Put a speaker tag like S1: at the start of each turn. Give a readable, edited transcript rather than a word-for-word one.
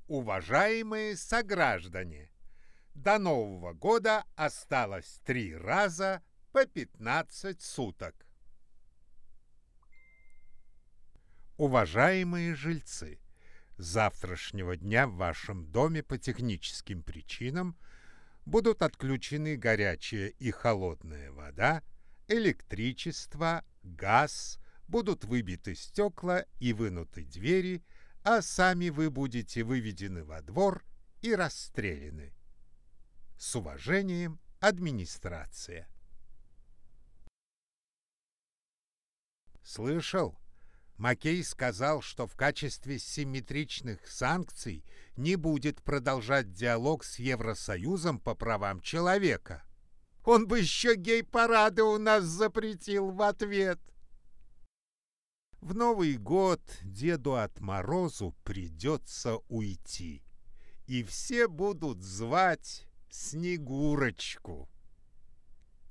S1: Уважаемые сограждане, до Нового года осталось 3 раза по 15 суток. Уважаемые жильцы, с завтрашнего дня в вашем доме по техническим причинам будут отключены горячая и холодная вода, электричество, газ, будут выбиты стекла и вынуты двери, а сами вы будете выведены во двор и расстреляны. С уважением, администрация. Слышал? Маккей сказал, что в качестве симметричных санкций не будет продолжать диалог с Евросоюзом по правам человека. Он бы еще гей-парады у нас запретил в ответ. В Новый год Деду Отморозу придется уйти, и все будут звать Снегурочку.